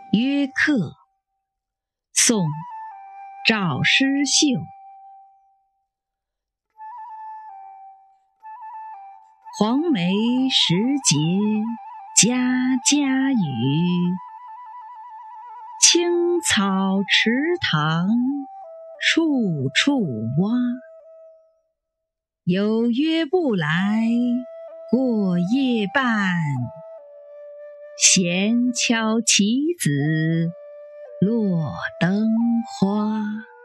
约客，宋·赵师秀。黄梅时节家家雨，青草池塘处处蛙。有约不来过夜半，闲敲棋子落灯花。